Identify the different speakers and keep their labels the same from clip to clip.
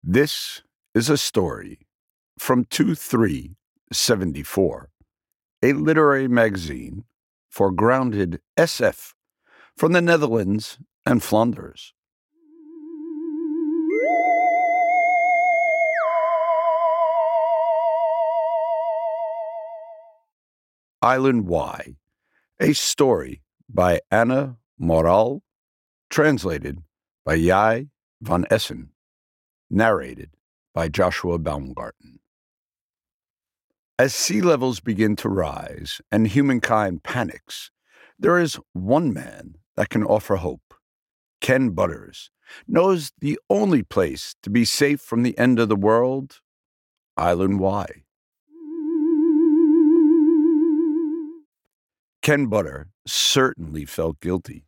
Speaker 1: This is a story from 2374, a literary magazine for grounded SF from the Netherlands and Flanders. Island Y, a story by Anna Moral, translated by Jai van Essen, narrated by Joshua Baumgarten. As sea levels begin to rise and humankind panics, there is one man that can offer hope. Ken Butters knows the only place to be safe from the end of the world, Island Y. Ken Butter certainly felt guilty.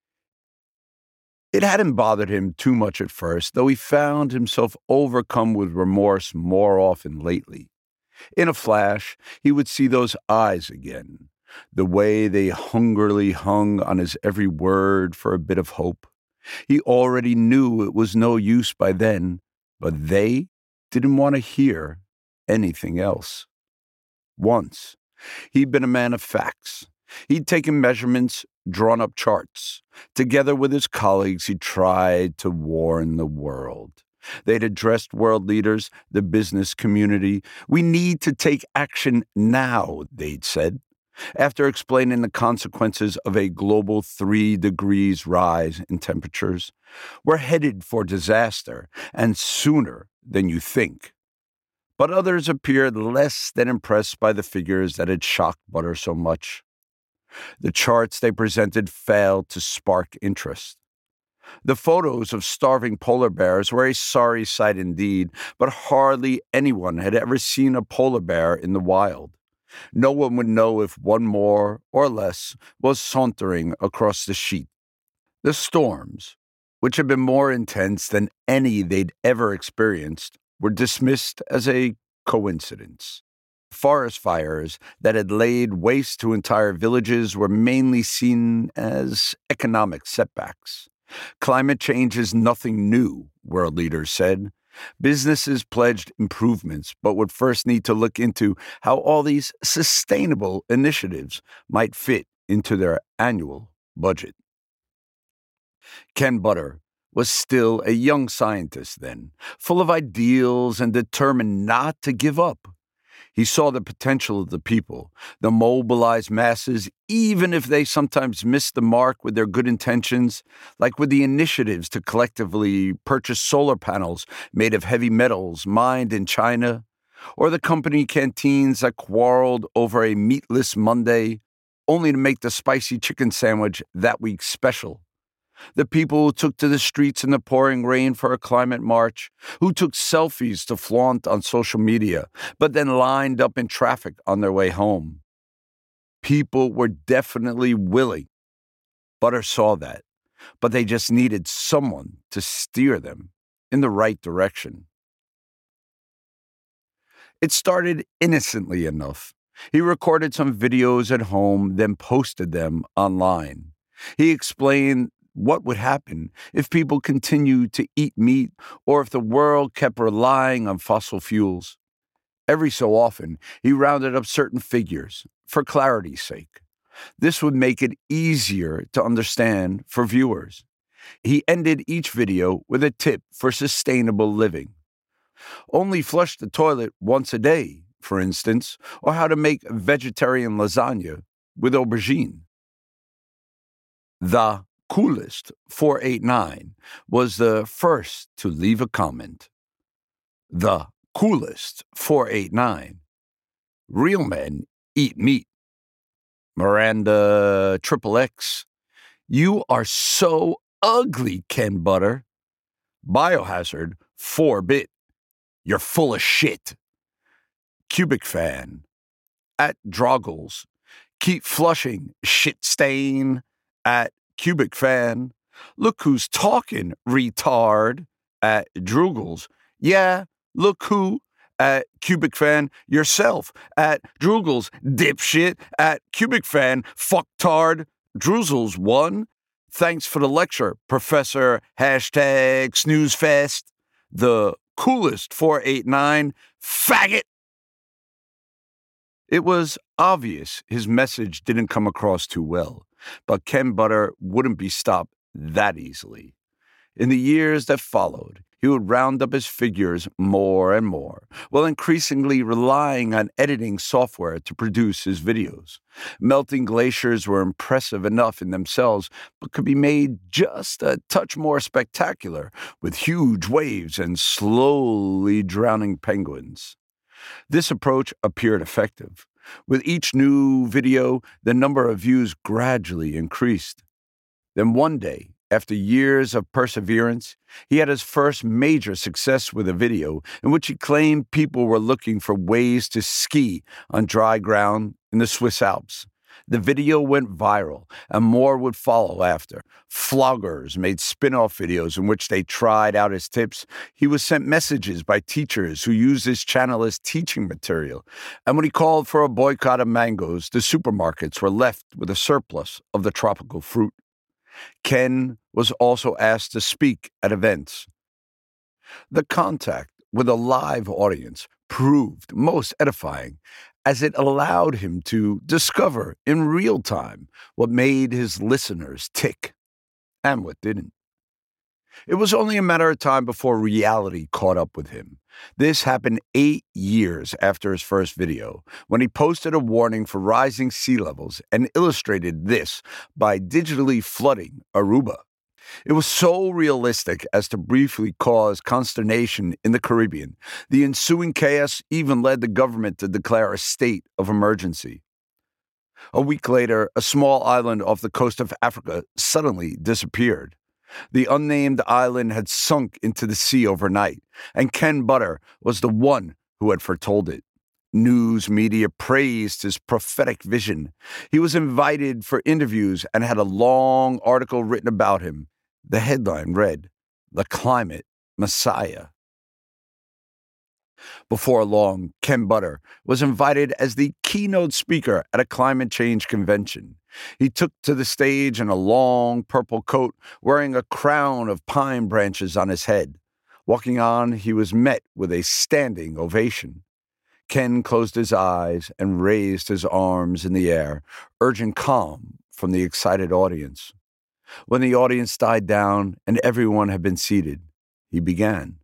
Speaker 1: It hadn't bothered him too much at first, though he found himself overcome with remorse more often lately. In a flash, he would see those eyes again, the way they hungrily hung on his every word for a bit of hope. He already knew it was no use by then, but they didn't want to hear anything else. Once, he'd been a man of facts. He'd taken measurements, drawn up charts. Together with his colleagues, he tried to warn the world. They'd addressed world leaders, the business community. We need to take action now, they'd said. After explaining the consequences of a global 3 degrees rise in temperatures, we're headed for disaster, and sooner than you think. But others appeared less than impressed by the figures that had shocked Butter so much. The charts they presented failed to spark interest. The photos of starving polar bears were a sorry sight indeed, but hardly anyone had ever seen a polar bear in the wild. No one would know if one more or less was sauntering across the sheet. The storms, which had been more intense than any they'd ever experienced, were dismissed as a coincidence. Forest fires that had laid waste to entire villages were mainly seen as economic setbacks. Climate change is nothing new, world leaders said. Businesses pledged improvements, but would first need to look into how all these sustainable initiatives might fit into their annual budget. Ken Butter was still a young scientist then, full of ideals and determined not to give up. He saw the potential of the people, the mobilized masses, even if they sometimes missed the mark with their good intentions, like with the initiatives to collectively purchase solar panels made of heavy metals mined in China, or the company canteens that quarreled over a meatless Monday, only to make the spicy chicken sandwich that week special. The people who took to the streets in the pouring rain for a climate march, who took selfies to flaunt on social media, but then lined up in traffic on their way home. People were definitely willing. Butter saw that, but they just needed someone to steer them in the right direction. It started innocently enough. He recorded some videos at home, then posted them online. He explained what would happen if people continued to eat meat or if the world kept relying on fossil fuels. Every so often, he rounded up certain figures for clarity's sake. This would make it easier to understand for viewers. He ended each video with a tip for sustainable living. Only flush the toilet once a day, for instance, or how to make vegetarian lasagna with aubergine. The Coolest 489 was the first to leave a comment. The Coolest 489. Real men eat meat. Miranda XXX. You are so ugly, Ken Butter. Biohazard 4-bit. You're full of shit. Cubic Fan. At Droggles. Keep flushing, shit stain. At Cubic Fan. Look who's talking, retard. At Droogles. Yeah, look who. At Cubic Fan. Yourself. At Droogles. Dipshit. At Cubic Fan. Fucktard. Droozles 1. Thanks for the lecture, Professor #SnoozeFest. The coolest 489, faggot. It was obvious his message didn't come across too well, but Ken Butter wouldn't be stopped that easily. In the years that followed, he would round up his figures more and more, while increasingly relying on editing software to produce his videos. Melting glaciers were impressive enough in themselves, but could be made just a touch more spectacular with huge waves and slowly drowning penguins. This approach appeared effective. With each new video, the number of views gradually increased. Then one day, after years of perseverance, he had his first major success with a video in which he claimed people were looking for ways to ski on dry ground in the Swiss Alps. The video went viral, and more would follow after. Floggers made spin-off videos in which they tried out his tips. He was sent messages by teachers who used his channel as teaching material. And when he called for a boycott of mangoes, the supermarkets were left with a surplus of the tropical fruit. Ken was also asked to speak at events. The contact with a live audience proved most edifying, as it allowed him to discover in real time what made his listeners tick and what didn't. It was only a matter of time before reality caught up with him. This happened 8 years after his first video, when he posted a warning for rising sea levels and illustrated this by digitally flooding Aruba. It was so realistic as to briefly cause consternation in the Caribbean. The ensuing chaos even led the government to declare a state of emergency. A week later, a small island off the coast of Africa suddenly disappeared. The unnamed island had sunk into the sea overnight, and Ken Butter was the one who had foretold it. News media praised his prophetic vision. He was invited for interviews and had a long article written about him. The headline read, "The Climate Messiah." Before long, Ken Butter was invited as the keynote speaker at a climate change convention. He took to the stage in a long purple coat, wearing a crown of pine branches on his head. Walking on, he was met with a standing ovation. Ken closed his eyes and raised his arms in the air, urging calm from the excited audience. When the audience died down and everyone had been seated, he began.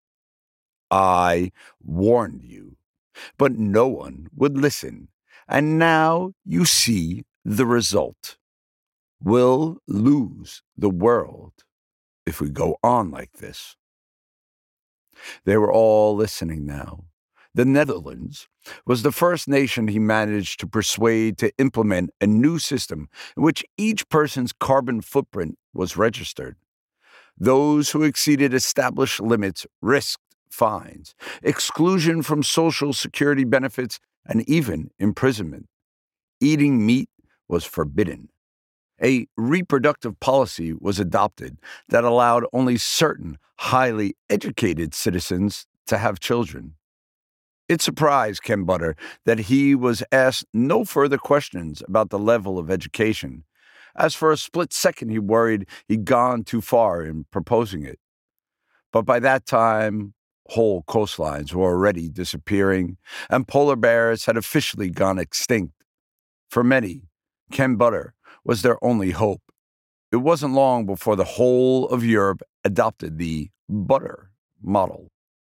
Speaker 1: "I warned you, but no one would listen, and now you see the result. We'll lose the world if we go on like this." They were all listening now. The Netherlands was the first nation he managed to persuade to implement a new system in which each person's carbon footprint was registered. Those who exceeded established limits risked fines, exclusion from social security benefits, and even imprisonment. Eating meat was forbidden. A reproductive policy was adopted that allowed only certain highly educated citizens to have children. It surprised Ken Butter that he was asked no further questions about the level of education, as for a split second he worried he'd gone too far in proposing it. But by that time, whole coastlines were already disappearing, and polar bears had officially gone extinct. For many, Ken Butter was their only hope. It wasn't long before the whole of Europe adopted the butter model.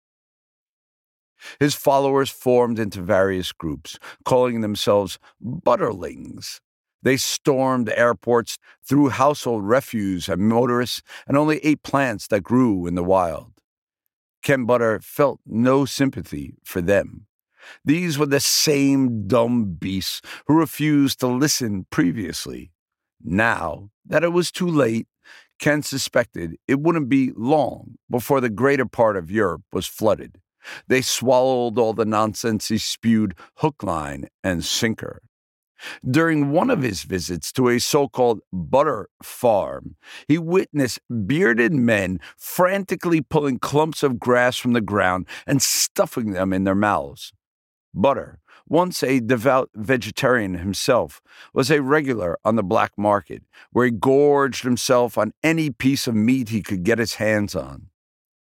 Speaker 1: His followers formed into various groups, calling themselves Butterlings. They stormed airports, threw household refuse at motorists, and only ate plants that grew in the wild. Ken Butter felt no sympathy for them. These were the same dumb beasts who refused to listen previously. Now that it was too late, Ken suspected it wouldn't be long before the greater part of Europe was flooded. They swallowed all the nonsense he spewed hook, line, and sinker. During one of his visits to a so-called butter farm, he witnessed bearded men frantically pulling clumps of grass from the ground and stuffing them in their mouths. Butter, once a devout vegetarian himself, was a regular on the black market, where he gorged himself on any piece of meat he could get his hands on.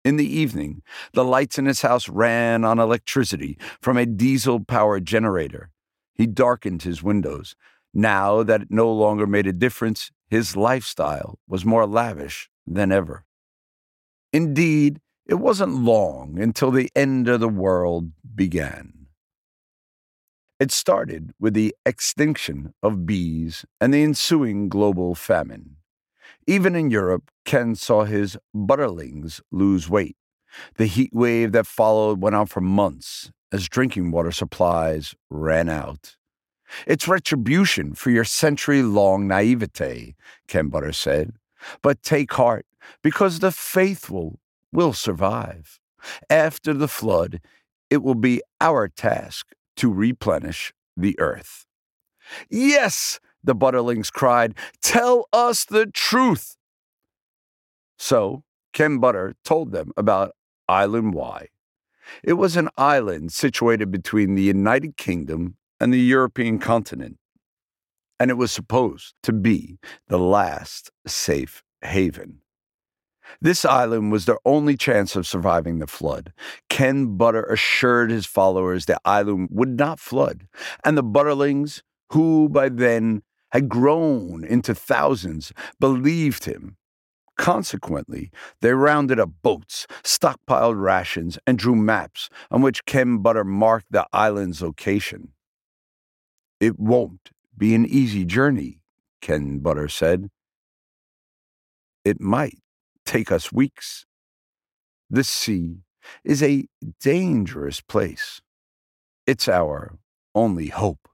Speaker 1: In the evening, the lights in his house ran on electricity from a diesel-powered generator. He darkened his windows. Now that it no longer made a difference, his lifestyle was more lavish than ever. Indeed, it wasn't long until the end of the world began. It started with the extinction of bees and the ensuing global famine. Even in Europe, Ken saw his butterlings lose weight. The heat wave that followed went on for months as drinking water supplies ran out. It's retribution for your century-long naivete, Ken Butter said. But take heart, because the faithful will survive. After the flood, it will be our task to replenish the earth. Yes, the butterlings cried, tell us the truth. So Ken Butter told them about Island Y. It was an island situated between the United Kingdom and the European continent, and it was supposed to be the last safe haven. This island was their only chance of surviving the flood. Ken Butter assured his followers the island would not flood, and the butterlings, who by then had grown into thousands, believed him. Consequently, they rounded up boats, stockpiled rations, and drew maps on which Ken Butter marked the island's location. It won't be an easy journey, Ken Butter said. It might take us weeks. The sea is a dangerous place. It's our only hope.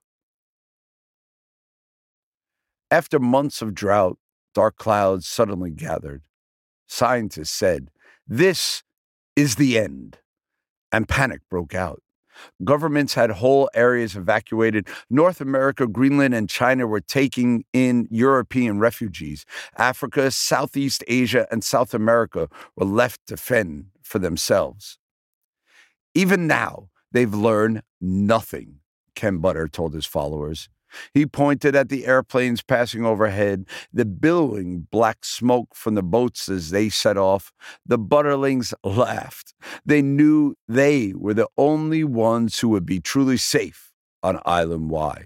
Speaker 1: After months of drought, dark clouds suddenly gathered. Scientists said, "This is the end," and panic broke out. Governments had whole areas evacuated. North America, Greenland, and China were taking in European refugees. Africa, Southeast Asia, and South America were left to fend for themselves. Even now, they've learned nothing, Ken Butter told his followers. He pointed at the airplanes passing overhead, the billowing black smoke from the boats as they set off. The butterlings laughed. They knew they were the only ones who would be truly safe on Island Y.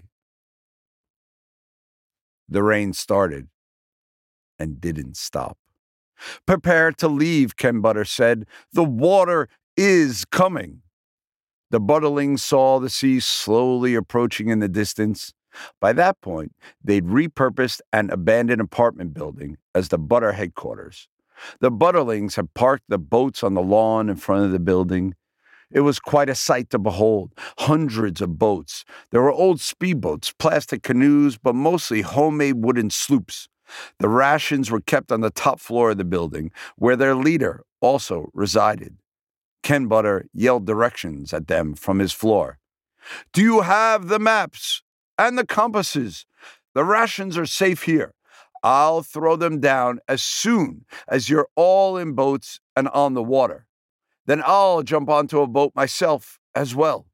Speaker 1: The rain started and didn't stop. Prepare to leave, Ken Butter said. The water is coming. The butterlings saw the sea slowly approaching in the distance. By that point, they'd repurposed an abandoned apartment building as the Butter headquarters. The butterlings had parked the boats on the lawn in front of the building. It was quite a sight to behold. Hundreds of boats. There were old speedboats, plastic canoes, but mostly homemade wooden sloops. The rations were kept on the top floor of the building, where their leader also resided. Ken Butter yelled directions at them from his floor. Do you have the maps and the compasses? The rations are safe here. I'll throw them down as soon as you're all in boats and on the water. Then I'll jump onto a boat myself as well.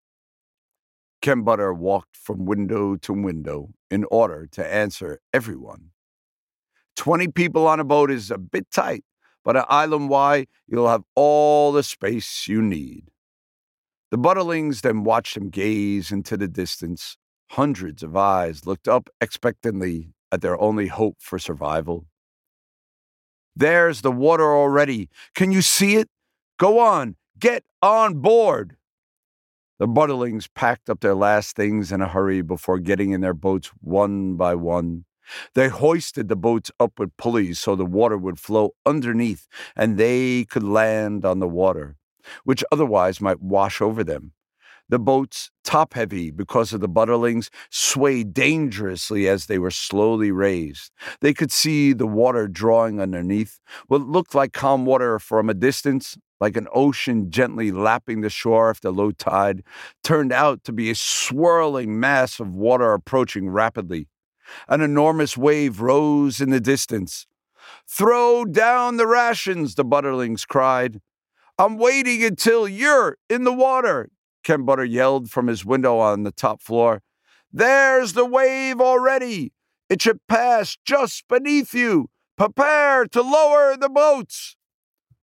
Speaker 1: Ken Butter walked from window to window in order to answer everyone. 20 people on a boat is a bit tight, but at Island Y, you'll have all the space you need. The butterlings then watched him gaze into the distance. Hundreds of eyes looked up expectantly at their only hope for survival. There's the water already. Can you see it? Go on, get on board. The butterlings packed up their last things in a hurry before getting in their boats one by one. They hoisted the boats up with pulleys so the water would flow underneath and they could land on the water, which otherwise might wash over them. The boats, top-heavy because of the butterlings, swayed dangerously as they were slowly raised. They could see the water drawing underneath. What looked like calm water from a distance, like an ocean gently lapping the shore after low tide, turned out to be a swirling mass of water approaching rapidly. An enormous wave rose in the distance. Throw down the rations, the butterlings cried. I'm waiting until you're in the water, Ken Butter yelled from his window on the top floor. There's the wave already. It should pass just beneath you. Prepare to lower the boats.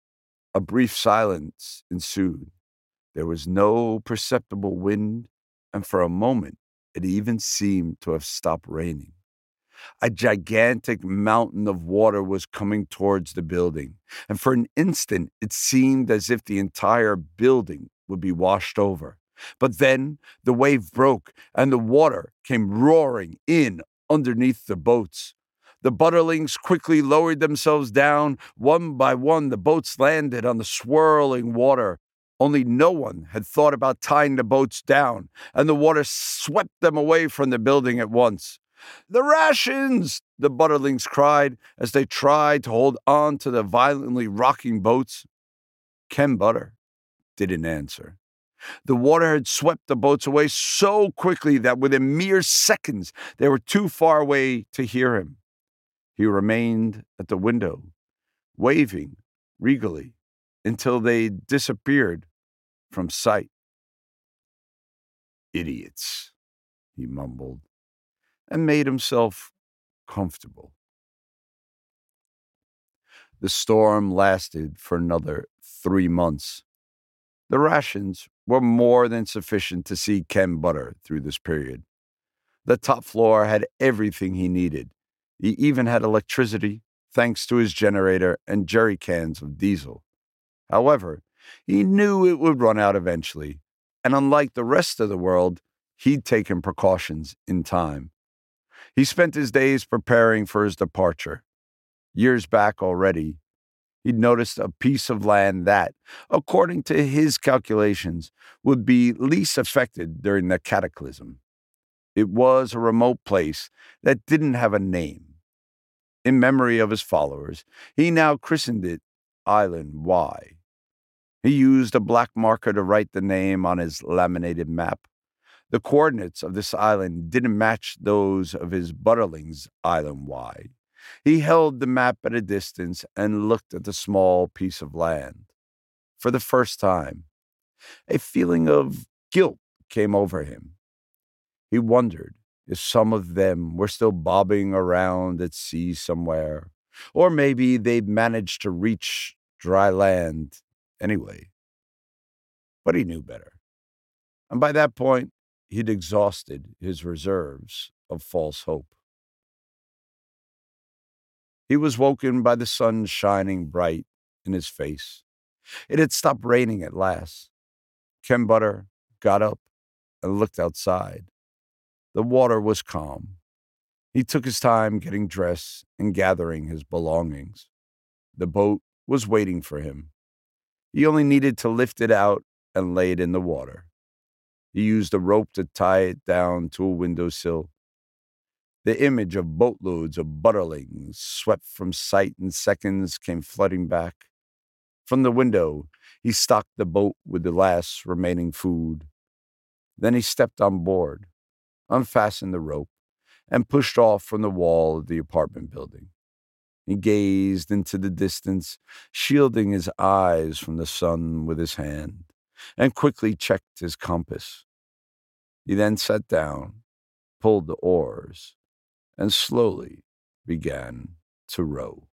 Speaker 1: A brief silence ensued. There was no perceptible wind, and for a moment it even seemed to have stopped raining. A gigantic mountain of water was coming towards the building, and for an instant it seemed as if the entire building would be washed over. But then the wave broke, and the water came roaring in underneath the boats. The Butterlings quickly lowered themselves down. One by one, the boats landed on the swirling water. Only no one had thought about tying the boats down, and the water swept them away from the building at once. "The rations!" the Butterlings cried as they tried to hold on to the violently rocking boats. Ken Butter didn't answer. The water had swept the boats away so quickly that within mere seconds they were too far away to hear him. He remained at the window, waving regally until they disappeared from sight. "Idiots," he mumbled, and made himself comfortable. The storm lasted for another 3 months. The rations were more than sufficient to see Ken Butter through this period. The top floor had everything he needed. He even had electricity, thanks to his generator and jerry cans of diesel. However, he knew it would run out eventually, and unlike the rest of the world, he'd taken precautions in time. He spent his days preparing for his departure. Years back already, he'd noticed a piece of land that, according to his calculations, would be least affected during the cataclysm. It was a remote place that didn't have a name. In memory of his followers, he now christened it Island Y. He used a black marker to write the name on his laminated map. The coordinates of this island didn't match those of his Butterling's Island Y. He held the map at a distance and looked at the small piece of land. For the first time, a feeling of guilt came over him. He wondered if some of them were still bobbing around at sea somewhere, or maybe they'd managed to reach dry land anyway. But he knew better. And by that point, he'd exhausted his reserves of false hope. He was woken by the sun shining bright in his face. It had stopped raining at last. Ken Butter got up and looked outside. The water was calm. He took his time getting dressed and gathering his belongings. The boat was waiting for him. He only needed to lift it out and lay it in the water. He used a rope to tie it down to a windowsill. The image of boatloads of Butterlings swept from sight in seconds came flooding back. From the window, he stocked the boat with the last remaining food. Then he stepped on board, unfastened the rope, and pushed off from the wall of the apartment building. He gazed into the distance, shielding his eyes from the sun with his hand, and quickly checked his compass. He then sat down, pulled the oars, and slowly began to row.